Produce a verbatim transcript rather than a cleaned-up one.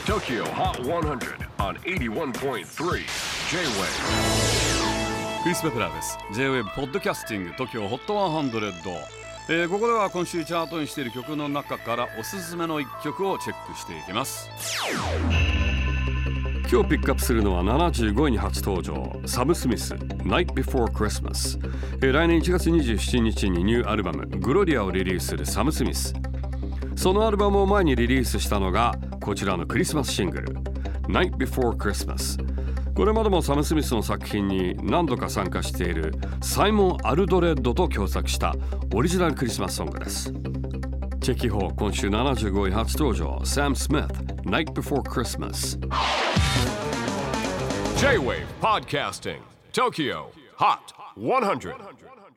Tokyo Hot one hundred on エイティワンポイントスリー J-Wave。 クリス・ベプラーです。 J-Wave ポッドキャスティング TOKYO ホットハンドレッド、えー、ここでは今週チャートにしている曲の中からおすすめのいっきょくをチェックしていきます。今日ピックアップするのはななじゅうごいに初登場、サム・スミス Night Before Christmas、えー、来年いちがつにじゅうしちにちにニューアルバムグロリアをリリースするサム・スミス。そのアルバムを前にリリースしたのがこちらのクリスマスシングル Night Before Christmas。 これまでもサム・スミスの作品に何度か参加しているサイモン・アルドレッドと共作したオリジナルクリスマスソングです。チェキホー今週ななじゅうごい初登場、サム・スミス Night Before Christmas。 J-Wave Podcasting Tokyo Hot one hundred